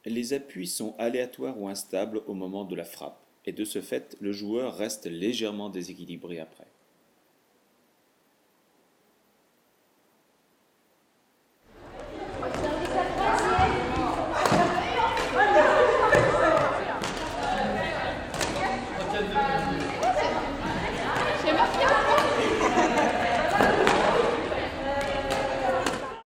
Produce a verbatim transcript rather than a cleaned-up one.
Les appuis sont aléatoires ou instables au moment de la frappe, et de ce fait, le joueur reste légèrement déséquilibré après.